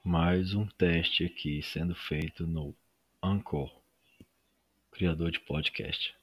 Mais um teste aqui sendo feito no Anchor, criador de podcast.